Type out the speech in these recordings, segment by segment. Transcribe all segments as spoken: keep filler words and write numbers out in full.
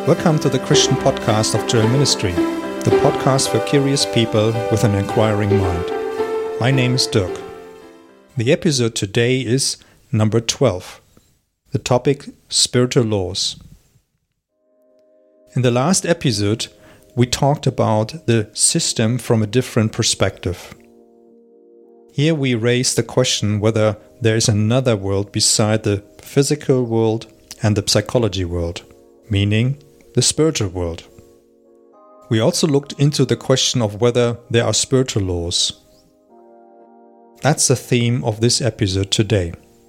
Welcome to the Christian podcast of Joel Ministry, the podcast for curious people with an inquiring mind. My name is Dirk. The episode today is number twelve. The topic, spiritual laws. In the last episode, we talked about the system from a different perspective. Here we raised the question whether there is another world beside the physical world and the psychology world, meaning the spiritual world. We also looked into the question of whether there are spiritual laws. That's the theme of this episode today.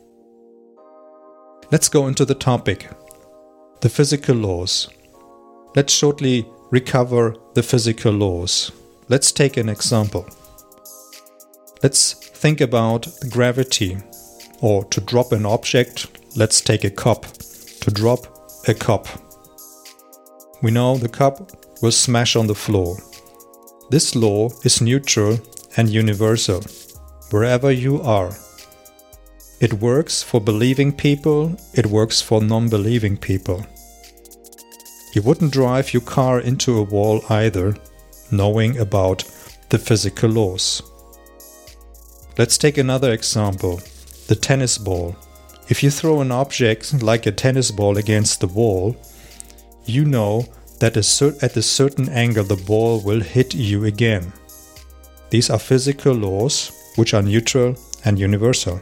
Let's go into the topic, the physical laws. Let's shortly recover the physical laws. Let's take an example. Let's think about gravity, or to drop an object, let's take a cup. To drop a cup. We know the cup will smash on the floor. This law is neutral and universal, wherever you are. It works for believing people, it works for non-believing people. You wouldn't drive your car into a wall either, knowing about the physical laws. Let's take another example, the tennis ball. If you throw an object like a tennis ball against the wall, you know that at a certain angle the ball will hit you again. These are physical laws which are neutral and universal.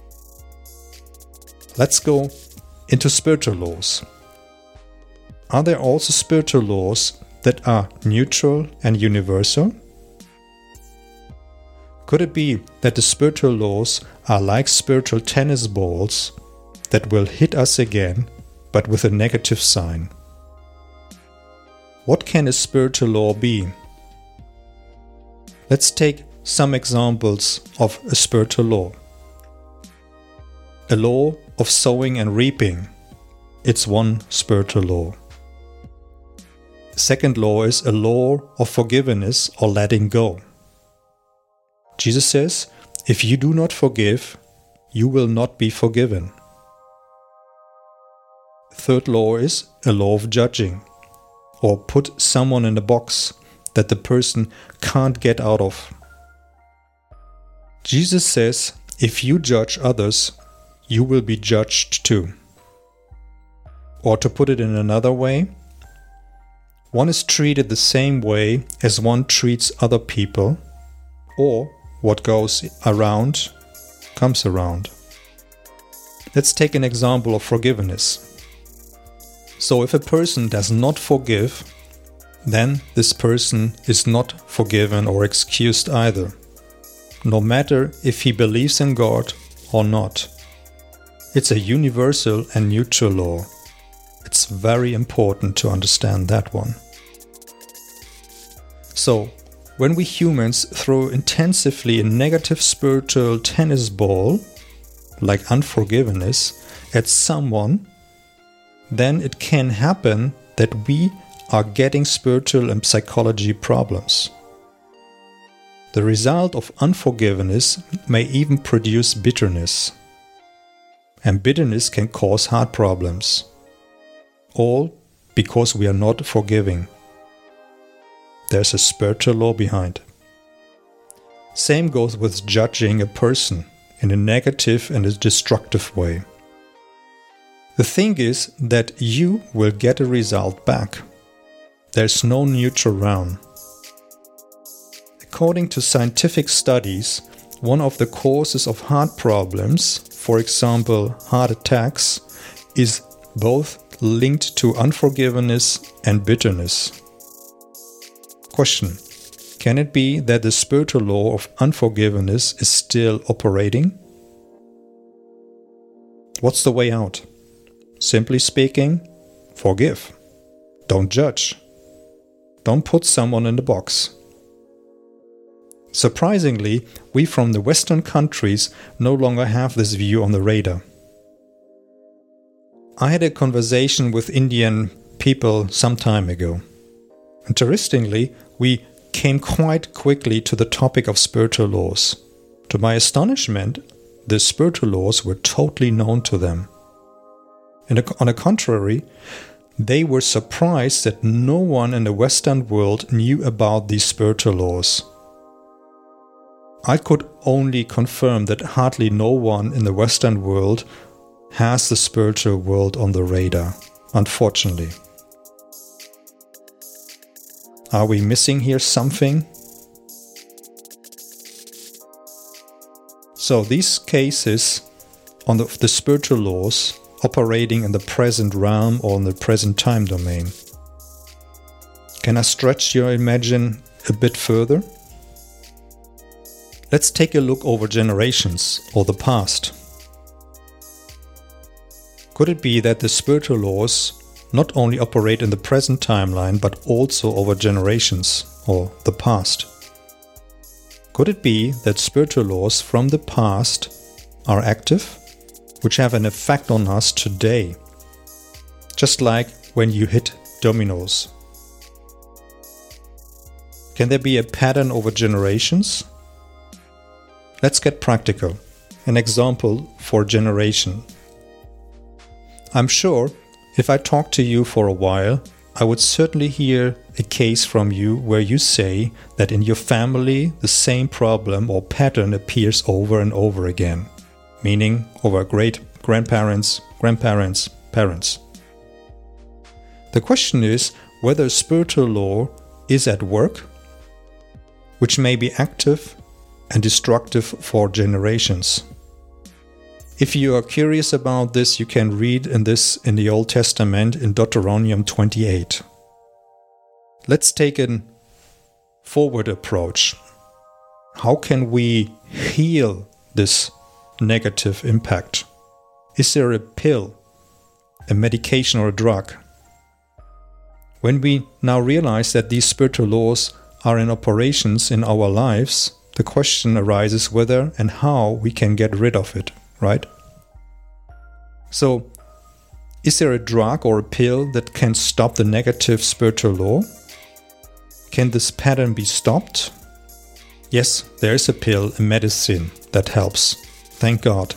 Let's go into spiritual laws. Are there also spiritual laws that are neutral and universal? Could it be that the spiritual laws are like spiritual tennis balls that will hit us again, but with a negative sign? What can a spiritual law be? Let's take some examples of a spiritual law. A law of sowing and reaping. It's one spiritual law. The second law is a law of forgiveness or letting go. Jesus says, if you do not forgive, you will not be forgiven. Third law is a law of judging, or put someone in a box that the person can't get out of. Jesus says, if you judge others, you will be judged too. Or to put it in another way, one is treated the same way as one treats other people, or what goes around comes around. Let's take an example of forgiveness. So if a person does not forgive, then this person is not forgiven or excused either, no matter if he believes in God or not. It's a universal and neutral law. It's very important to understand that one. So, when we humans throw intensively a negative spiritual tennis ball, like unforgiveness, at someone, then it can happen that we are getting spiritual and psychology problems. The result of unforgiveness may even produce bitterness. And bitterness can cause heart problems. All because we are not forgiving. There's a spiritual law behind. Same goes with judging a person in a negative and a destructive way. The thing is that you will get a result back. There's no neutral ground. According to scientific studies, one of the causes of heart problems, for example heart attacks, is both linked to unforgiveness and bitterness. Question: can it be that the spiritual law of unforgiveness is still operating? What's the way out? Simply speaking, forgive. Don't judge. Don't put someone in the box. Surprisingly, we from the Western countries no longer have this view on the radar. I had a conversation with Indian people some time ago. Interestingly, we came quite quickly to the topic of spiritual laws. To my astonishment, the spiritual laws were totally known to them. And on the contrary, they were surprised that no one in the Western world knew about these spiritual laws. I could only confirm that hardly no one in the Western world has the spiritual world on the radar, unfortunately. Are we missing here something? So these cases on the, the spiritual laws operating in the present realm or in the present time domain. Can I stretch your imagination a bit further? Let's take a look over generations or the past. Could it be that the spiritual laws not only operate in the present timeline but also over generations or the past? Could it be that spiritual laws from the past are active, which have an effect on us today? Just like when you hit dominoes. Can there be a pattern over generations? Let's get practical. An example for generation. I'm sure if I talk to you for a while, I would certainly hear a case from you where you say that in your family the same problem or pattern appears over and over again, meaning over great grandparents, grandparents, parents. The question is whether a spiritual law is at work, which may be active and destructive for generations. If you are curious about this, you can read in this in the Old Testament in Deuteronomy twenty-eight. Let's take a forward approach. How can we heal this negative impact? Is there a pill, a medication or a drug? When we now realize that these spiritual laws are in operations in our lives, the question arises whether and how we can get rid of it, right? So, is there a drug or a pill that can stop the negative spiritual law? Can this pattern be stopped? Yes, there is a pill, a medicine that helps. Thank God.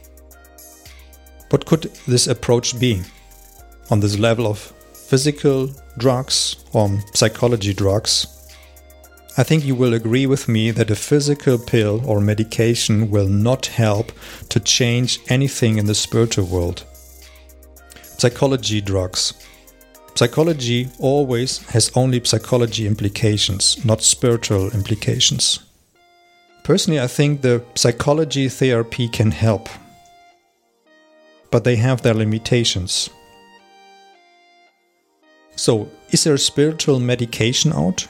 What could this approach be? On this level of physical drugs or psychology drugs? I think you will agree with me that a physical pill or medication will not help to change anything in the spiritual world. Psychology drugs. Psychology always has only psychology implications, not spiritual implications. Personally, I think the psychology therapy can help, but they have their limitations. So, is there a spiritual medication out?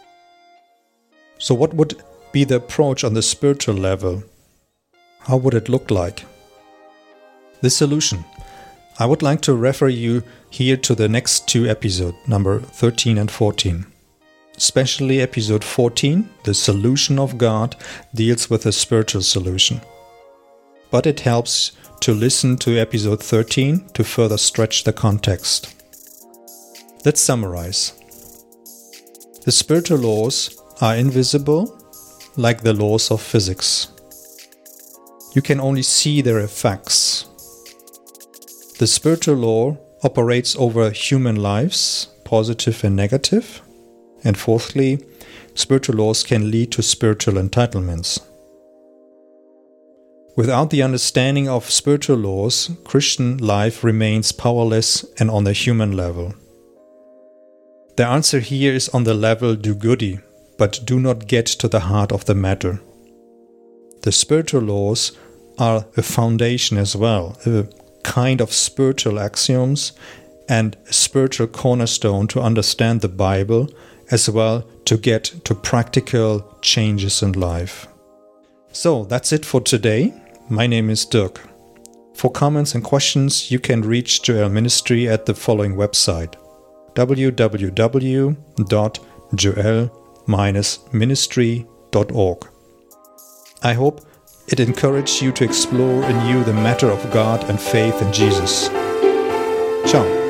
So what would be the approach on the spiritual level? How would it look like? The solution. I would like to refer you here to the next two episodes, number thirteen and fourteen. Especially episode fourteen, The Solution of God, deals with a spiritual solution. But it helps to listen to episode thirteen to further stretch the context. Let's summarize. The spiritual laws are invisible, like the laws of physics. You can only see their effects. The spiritual law operates over human lives, positive and negative. And fourthly, spiritual laws can lead to spiritual entitlements. Without the understanding of spiritual laws, Christian life remains powerless and on the human level. The answer here is on the level do-goody, but do not get to the heart of the matter. The spiritual laws are a foundation as well, a kind of spiritual axioms and a spiritual cornerstone to understand the Bible, as well to get to practical changes in life. So that's it for today. My name is Dirk. For comments and questions, you can reach Joel Ministry at the following website: w w w dot joel ministry dot org. I hope it encouraged you to explore anew the matter of God and faith in Jesus. Ciao.